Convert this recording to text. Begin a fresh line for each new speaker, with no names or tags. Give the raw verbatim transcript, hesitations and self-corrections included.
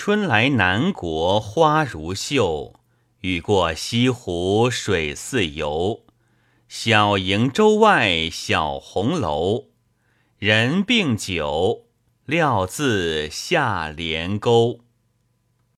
春来南国花如绣，雨过西湖水似游。小营洲外小红楼，人并酒，料自下帘钩。